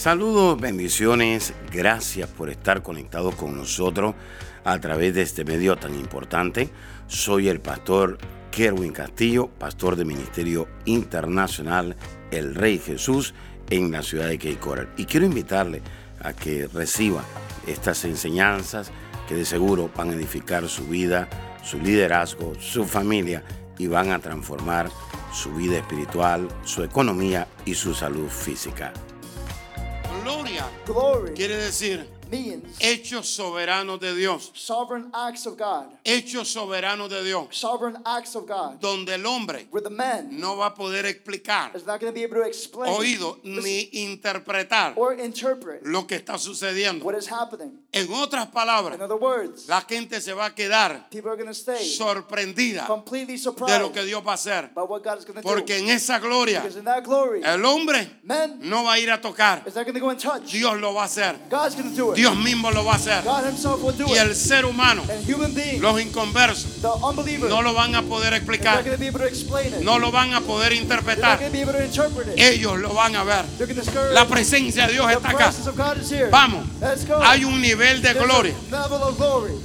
Saludos, bendiciones, gracias por estar conectados con nosotros a través de este medio tan importante. Soy el pastor Kerwin Castillo, pastor de Ministerio Internacional El Rey Jesús en la ciudad de Cape Coral. Y quiero invitarle a que reciba estas enseñanzas que de seguro van a edificar su vida, su liderazgo, su familia y van a transformar su vida espiritual, su economía y su salud física. Gloria quiere decir hechos soberanos de Dios. Sovereign acts of God. Hechos soberanos de Dios. Sovereign acts of God. Donde el hombre Where the man no va a poder explicar, is not going to be able to explain, oído, ni interpretar or interpret lo que está sucediendo. what is happening. En otras palabras, In other words, la gente se va a quedar people are going to stay sorprendida completely de surprised lo que Dios va a hacer. by what God is going to Porque do. en esa gloria, Because in that glory, el hombre man no va a ir a tocar. is not going to go and touch. Dios lo va a hacer. God's going to do it. Dios mismo lo va a hacer. God himself will do Y it. el ser humano, And human beings, los inconversos, the unbelievers, no lo van a poder is not explicar. going to be able to explain it. No lo van a poder They're not interpretar. going to be able to interpret it. Ellos lo van a ver. They're going to discourage. La presencia de Dios The está acá. presence of God is here. Vamos. Let's go. Hay un nivel de There's gloria. a level of glory.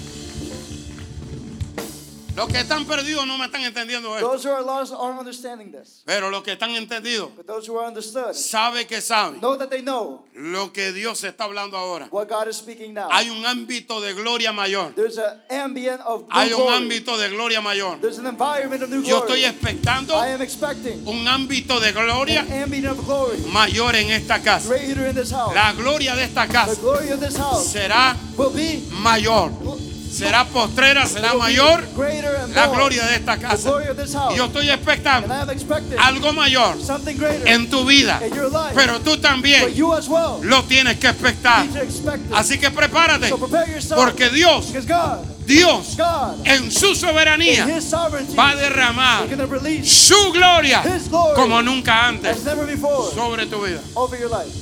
Los que están perdidos no me están entendiendo esto. Those who are lost aren't understanding this. Pero los que están entendidos, But those who are understood sabe que saben know that they know lo que Dios está hablando ahora. what God is speaking now. Hay un ámbito de gloria mayor. There's an ambient of new Hay un glory. ámbito de gloria mayor. There's an environment of new Yo glory. estoy expectando I am expecting un ámbito de gloria an ambient of glory mayor en esta casa. greater in this house. La gloria de esta The casa glory of this house será will be mayor. Será postrera, será will be mayor greater and la more. gloria de esta The casa. glory of this house. Y yo estoy And expectando I am expecting algo mayor something greater en tu vida. in your life. Pero tú But también you as well lo tienes que expectar. need to expect it. Así que prepárate, So prepare yourself. porque Dios Because God en su in soberanía His sovereignty va a derramar is going to release su gloria His glory como nunca antes as never before sobre tu vida. over your life.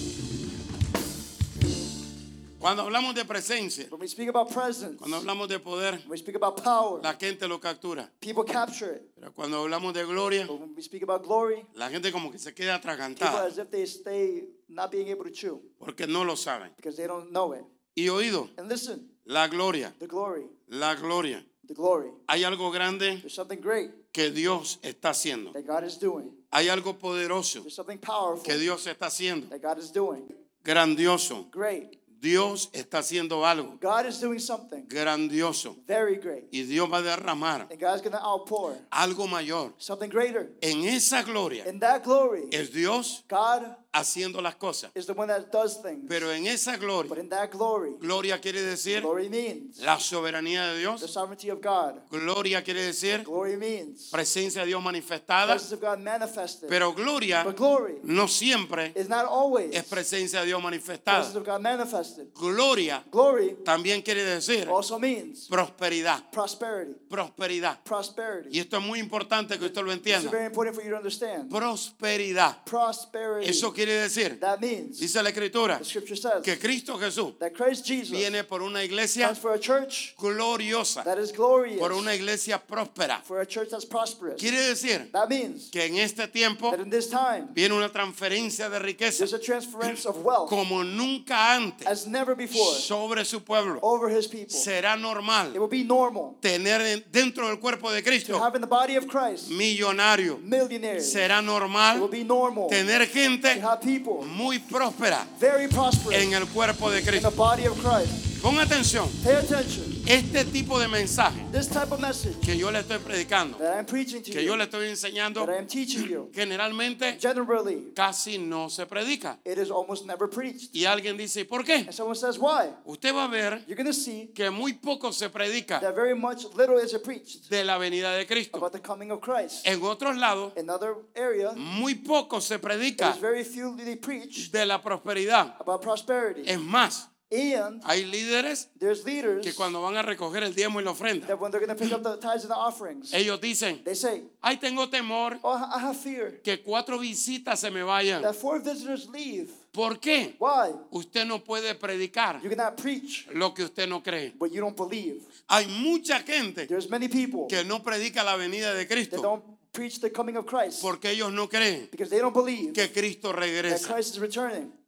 Cuando hablamos de presencia, When we speak about presence, cuando hablamos de poder, when we speak about power, la gente lo captura. people capture it. Pero cuando hablamos de gloria, But when we speak about glory, la gente como que se queda people atragantada as if they stay not being able to chew porque no lo saben. because they don't know it. Y oído, And listen, la gloria, the glory, la gloria. the glory. Hay algo grande There's something great que Dios está haciendo. that God is doing. Hay algo poderoso There's something powerful que Dios está haciendo. that God is doing. Grandioso. Great. Dios está haciendo algo God is doing something grandioso. very great. Y Dios va a derramar And God's going to outpour algo mayor. something greater. En esa gloria In that glory, es Dios God haciendo las cosas. is the one that does things. Pero en esa But gloria, in that glory, gloria quiere decir glory means la soberanía de the Dios. sovereignty of God. Gloria quiere decir Glory means presencia de Dios manifestada. presence of God manifested. Pero gloria But glory no siempre is not always es presencia de Dios presence manifestada. of God manifested. Gloria Glory también quiere decir also means prosperidad. prosperity. Prosperidad. Prosperity. Y esto es muy importante que usted lo It's entienda. very important for you to understand. Prosperidad. Prosperity. Eso quiere decir, That means, dice la Escritura, the scripture says, que Cristo Jesús that Christ Jesus viene por una iglesia comes for a church gloriosa, that is glorious, por una iglesia próspera. for a church that's prosperous. Quiere decir That means que en este tiempo that in this time, viene una transferencia de riqueza there's a transference of wealth como nunca antes as never before sobre su pueblo. over his people. Será It normal will be normal tener dentro del cuerpo de to Cristo have in the body of Christ millonario. millionaires. Será It will normal be normal tener to gente have people muy próspera very prosperous en el cuerpo de in the Cristo. body of Christ. Pon atención, Pay attention. este tipo de mensaje This type of message que yo le estoy predicando, that I'm preaching to que yo you, le estoy enseñando, that I am teaching you, generalmente generally, casi no se predica. it is almost never preached. Y alguien dice, ¿y por qué? And someone says, why? Usted va a ver You're going to see que muy poco se predica that very much little is preached de la venida de Cristo. about the coming of Christ. En otros lados, In other areas, muy poco se predica there's very few they preach de la prosperidad. about prosperity. Es más, And hay líderes there's leaders que cuando van a recoger el diezmo y la ofrenda, that when they're going to pick up the tithes and the offerings, ellos dicen, they say, ay, tengo temor oh, I have fear que 4 visitas se me vayan. that 4 visitors leave. ¿Por qué? Why? Usted no puede predicar You cannot preach lo que usted no cree. what you don't believe. Hay mucha gente There's many people que no predica la venida de that Cristo don't preach the coming of Christ porque ellos no creen because they don't believe que Cristo that regresa. Christ is returning.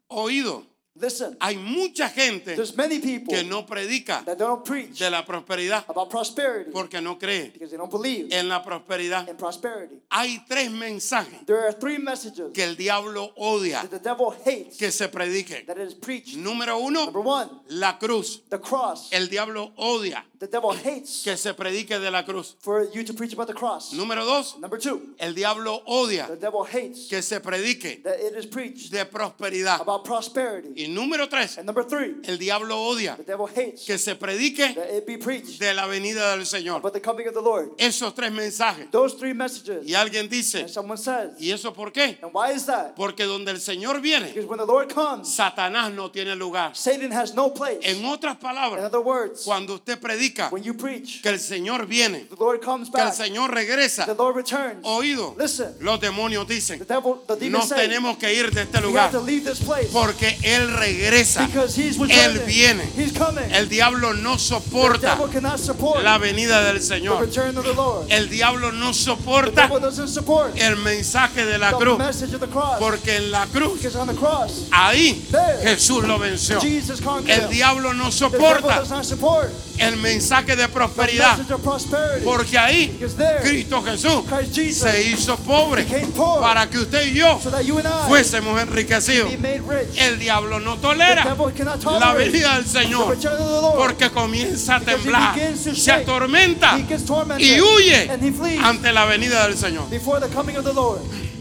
Oído. Listen, Hay mucha gente there's many people que no predica that don't preach de la prosperidad about prosperity porque no cree because they don't believe en la prosperidad. in prosperity. Hay 3 mensajes There are 3 messages que el diablo odia that the devil hates que se prediquen. that is preached. Número 1, Number 1, la cruz. the cross. El diablo odia The devil hates que se predique de la cruz. for you to preach about the cross. Número 2, Number 2, el diablo odia the devil hates que se predique that it is preached de prosperidad. about prosperity. Y número 3, And number 3, el diablo odia the devil hates que se predique that it be preached de la venida del Señor. about the coming of the Lord. Esos 3 mensajes. Those 3 messages. Y alguien dice, And someone says, ¿y eso por qué? and why is that? Porque donde el Señor viene, Because when the Lord comes, Satanás no tiene lugar. Satan has no place. En otras In palabras, other words, cuando usted predica when you preach, que el Señor viene, the Lord comes que el back, Señor regresa, the Lord returns. oído, Listen, los demonios dicen, the demons nos say, tenemos que ir de este we have lugar to leave this place porque Él regresa. because he's Él returning. viene. He's coming. El diablo no The soporta devil cannot support la venida del the Señor. return of the Lord. El diablo no The soporta devil doesn't support el mensaje de la the cruz, message of the cross. porque en la cruz, Because on the cross, ahí There. Jesús lo venció. Jesus conquered El him. diablo no The devil soporta does not support el mensaje de the prosperidad, message of prosperity. porque ahí Because there, Cristo Jesús Christ Jesus se hizo pobre became poor para que usted y yo so that you and I fuésemos enriquecidos. be made rich. El diablo no The tolera devil cannot la tolerate venida del the Señor return of the Lord. porque comienza a Because he temblar, begins to se shake. atormenta He gets tormented y huye and he flees ante la venida del Señor. before the coming of the Lord.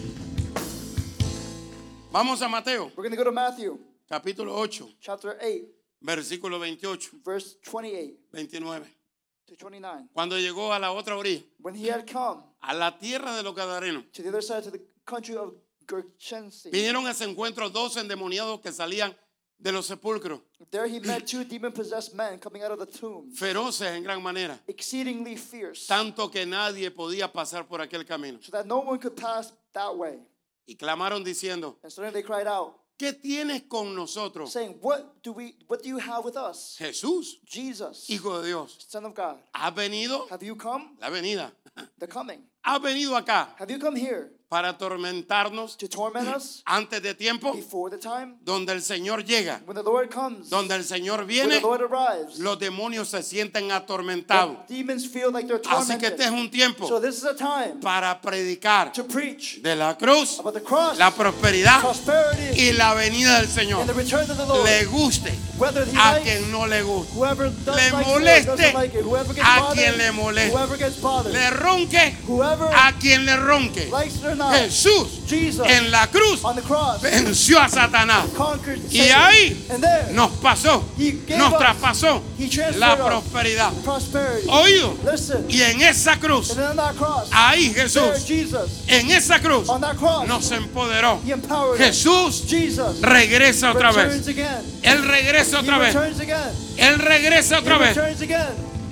Vamos a Mateo, We're going to go to Matthew capítulo 8, chapter 8, versículo 28, verse 28 29. to 29. Cuando llegó a la otra orilla, When he had come a la tierra de los Gadarenos, to the other side, to the country of Gergesenes, vinieron a ese encuentro 2 endemoniados que salían de los sepulcros, there he met 2 demon-possessed men coming out of the tomb, feroces en gran manera, exceedingly fierce, tanto que nadie podía pasar por aquel camino. so that no one could pass that way. Y clamaron diciendo, And suddenly they cried out, ¿qué tienes con nosotros, saying, What do you have with us? Jesús, Jesus, Hijo de Dios? Son of God. ¿Has venido? Have you come? La venida. The coming. ¿Has venido acá Have you come here para atormentarnos to torment us antes de tiempo? before the time? Donde el Señor llega, When the Lord comes, donde el Señor when viene, the Lord arrives, los demonios se sienten atormentados. the demons feel like they're Así que tormented. este es un tiempo So this is a time para predicar to preach de la cruz, about the cross, la prosperidad prosperity, y la venida del and Señor. the return of the Lord. Le guste Whether he a likes, quien no le guste, whoever does le like it or moleste doesn't like it, whoever gets a bothered, quien le moleste, whoever gets bothered, le ronque whoever a quien le ronque. likes it or not, Jesús Jesus en la cruz on the cross venció a Satanás conquered y Satan. ahí And there nos pasó, he gave nos us, traspasó he transferred la us prosperidad. prosperity. Oído, Listen, y en esa cruz, and then on that cross, ahí there Jesús, Jesus, en esa cruz on that cross, nos empoderó. he empowered us. Jesús Jesus regresa otra returns vez. again. Él regresa He otra vez. returns again. Él regresa He otra vez. returns again.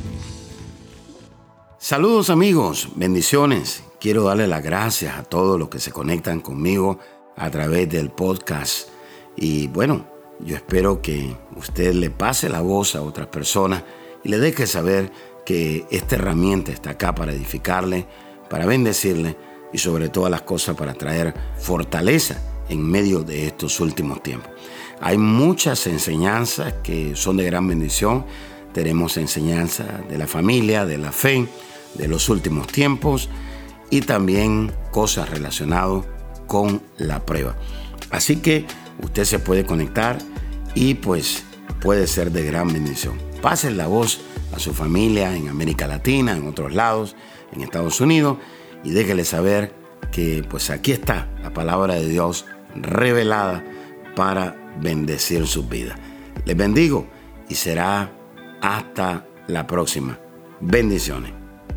Saludos amigos, bendiciones. Quiero darle las gracias a todos los que se conectan conmigo a través del podcast. Y bueno, yo espero que usted le pase la voz a otras personas y le deje saber que esta herramienta está acá para edificarle, para bendecirle y sobre todas las cosas para traer fortaleza en medio de estos últimos tiempos. Hay muchas enseñanzas que son de gran bendición. Tenemos enseñanza de la familia, de la fe, de los últimos tiempos y también cosas relacionadas con la prueba. Así que usted se puede conectar y pues puede ser de gran bendición. Pasen la voz a su familia en América Latina, en otros lados, en Estados Unidos y déjele saber que pues aquí está la palabra de Dios revelada para bendecir sus vidas. Les bendigo y será hasta la próxima. Bendiciones.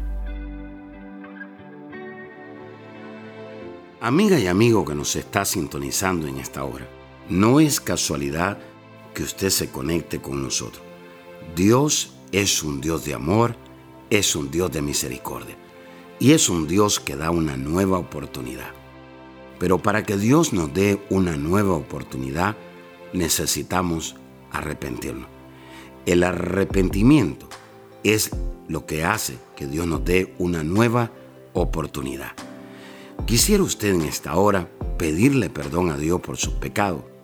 Amiga y amigo que nos está sintonizando en esta hora, no es casualidad que usted se conecte con nosotros. Dios es un Dios de amor, es un Dios de misericordia y es un Dios que da una nueva oportunidad. Pero para que Dios nos dé una nueva oportunidad, necesitamos arrepentirnos. El arrepentimiento es lo que hace que Dios nos dé una nueva oportunidad. Quisiera usted en esta hora pedirle perdón a Dios por sus pecados,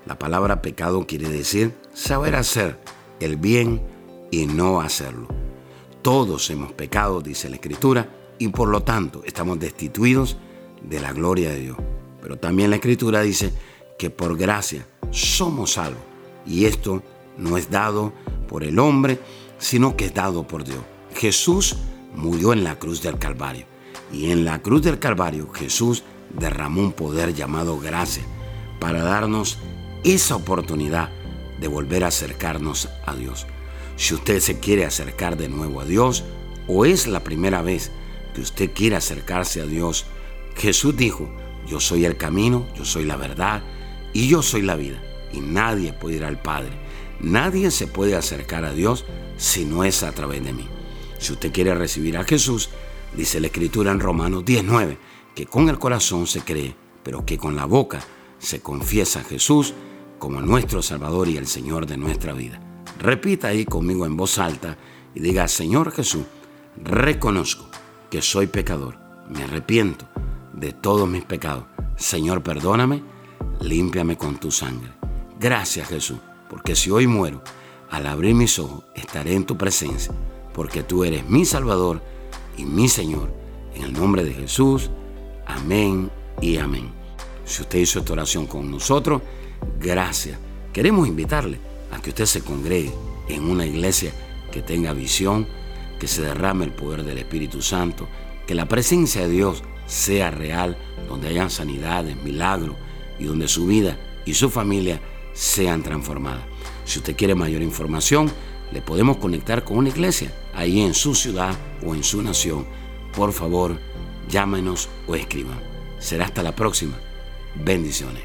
La palabra pecado quiere decir saber hacer el bien y no hacerlo. Todos hemos pecado, dice la Escritura, y por lo tanto estamos destituidos de la gloria de Dios. Pero también la Escritura dice que por gracia somos salvos. Y esto no es dado por el hombre, sino que es dado por Dios. Jesús murió en la cruz del Calvario. Y en la cruz del Calvario Jesús derramó un poder llamado gracia para darnos esa oportunidad de volver a acercarnos a Dios. Si usted se quiere acercar de nuevo a Dios o es la primera vez que usted quiere acercarse a Dios, Jesús dijo: yo soy el camino, yo soy la verdad y yo soy la vida. Y nadie puede ir al Padre, nadie se puede acercar a Dios si no es a través de mí. Si usted quiere recibir a Jesús, dice la Escritura en Romanos 10:9, que con el corazón se cree, pero que con la boca se confiesa a Jesús como nuestro Salvador y el Señor de nuestra vida. Repita ahí conmigo en voz alta y diga: Señor Jesús, reconozco que soy pecador, me arrepiento de todos mis pecados. Señor, perdóname, límpiame con tu sangre. Gracias, Jesús, porque si hoy muero, al abrir mis ojos estaré en tu presencia, porque tú eres mi Salvador y mi Señor. En el nombre de Jesús, amén y amén. Si usted hizo esta oración con nosotros, gracias. Queremos invitarle a que usted se congregue en una iglesia que tenga visión, que se derrame el poder del Espíritu Santo, que la presencia de Dios sea real, donde hayan sanidades, milagros y donde su vida y su familia sean transformadas. Si usted quiere mayor información, le podemos conectar con una iglesia ahí en su ciudad o en su nación. Por favor, llámenos o escriban. Será hasta la próxima. Bendiciones.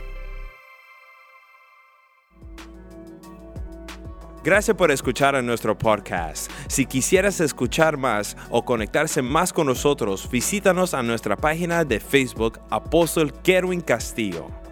Gracias por escuchar a nuestro podcast. Si quisieras escuchar más o conectarse más con nosotros, visítanos a nuestra página de Facebook, Apóstol Kerwin Castillo.